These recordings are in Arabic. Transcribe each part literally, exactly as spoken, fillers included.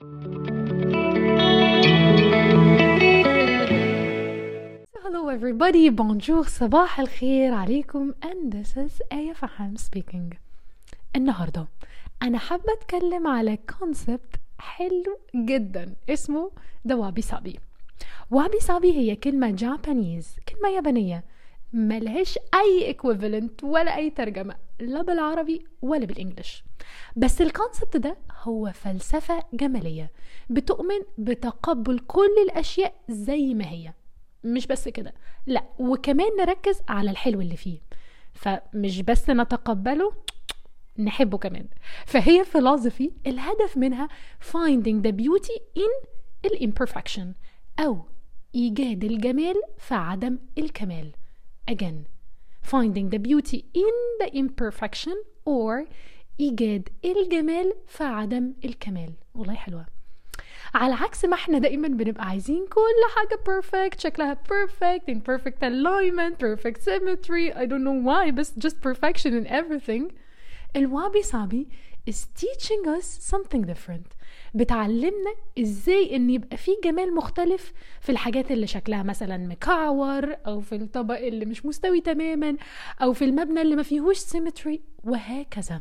Hello everybody, bonjour, صباح الخير عليكم and this is آية فحام speaking. النهاردة أنا حابة أتكلم على concept حلو جدا اسمه the wabi sabi. wabi sabi هي كلمة جابانيز، كلمة يابانية ملهاش أي equivalent ولا أي ترجمة لا بالعربي ولا بالإنجليش، بس الكونسبت ده هو فلسفة جمالية بتؤمن بتقبل كل الأشياء زي ما هي. مش بس كده، لا وكمان نركز على الحلو اللي فيه، فمش بس نتقبله، نحبه كمان. فهي philosophy الهدف منها finding the beauty in الimperfection أو إيجاد الجمال في عدم الكمال. again finding the beauty in the imperfection or إيجاد الجمال في عدم الكمال. والله حلوة. على عكس ما احنا دائما بنبقى عايزين كل حاجة perfect، شكلها perfect in perfect alignment perfect symmetry I don't know why بس just perfection in everything. الوابي سابي is teaching us something different، بتعلمنا ازاي ان يبقى فيه جمال مختلف في الحاجات اللي شكلها مثلا مكعور او في الطبق اللي مش مستوي تماما او في المبنى اللي ما فيهوش symmetry وهكذا.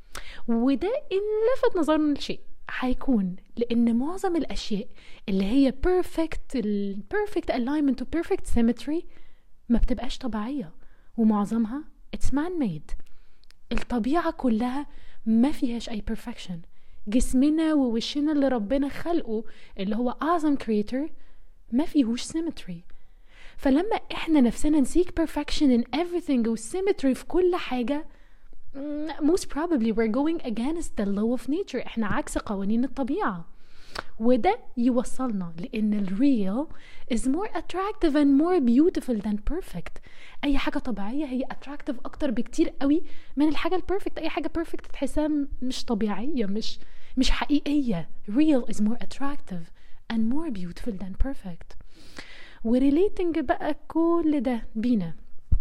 وده إن لفت نظرنا لشيء هيكون لأن معظم الأشياء اللي هي perfect ال perfect alignment و perfect symmetry ما بتبقاش طبيعية، ومعظمها it's man-made. الطبيعة كلها ما فيهاش أي perfection. جسمنا ووشنا اللي ربنا خلقه اللي هو أعظم creator ما فيهوش symmetry. فلما إحنا نفسنا نسيك perfection in everything و symmetry في كل حاجة most probably we're going against the law of nature. احنا عكس قوانين الطبيعة، وده يوصلنا لان ال real is more attractive and more beautiful than perfect. اي حاجة طبيعية هي attractive اكتر بكتير قوي من الحاجة البرفكت. اي حاجة perfect تحسها مش طبيعية، مش مش حقيقية. real is more attractive and more beautiful than perfect. وريليتنج بقى كل ده بينا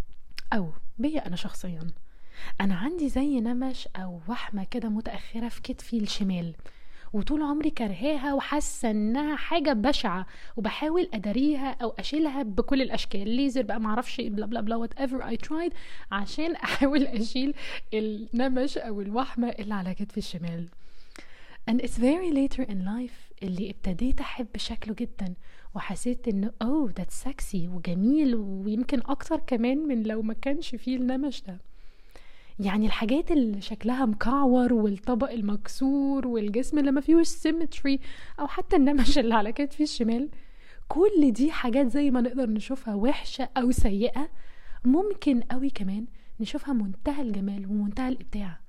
او بيا انا شخصيا، أنا عندي زي نمش أو وحمة كده متأخرة في كتفي الشمال، وطول عمري كرهاها وحاسة إنها حاجة بشعة وبحاول أداريها أو أشيلها بكل الأشكال، ليزر بقى معرفش بلا بلا بلا whatever I tried عشان أحاول أشيل النمش أو الوحمة اللي على كتفي الشمال. and it's very later in life اللي ابتديت أحب شكله جدا وحسيت إنه oh that's sexy وجميل ويمكن أكتر كمان من لو ما كانش فيه النمش ده. يعني الحاجات اللي شكلها مكعور والطبق المكسور والجسم اللي ما فيهوش سيمتري او حتى النمش اللي على كتفي الشمال، كل دي حاجات زي ما نقدر نشوفها وحشة او سيئة ممكن قوي كمان نشوفها منتهى الجمال ومنتهى الابداع.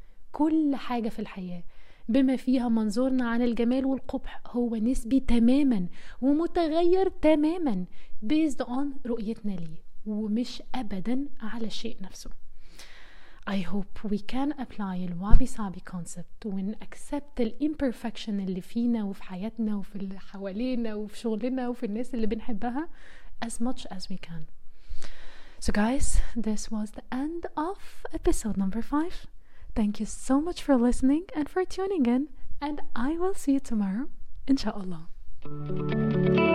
كل حاجة في الحياة بما فيها منظورنا عن الجمال والقبح هو نسبي تماما ومتغير تماما based on رؤيتنا ليه ومش ابدا على الشيء نفسه. I hope we can apply الوابي سابي concept ون accept ال imperfection اللي فينا وفي حياتنا وفي اللي حوالينا وفي شغلنا وفي الناس اللي بنحبها as much as we can. So guys, this was the end of episode number five. Thank you so much for listening and for tuning in, and I will see you tomorrow, inshallah.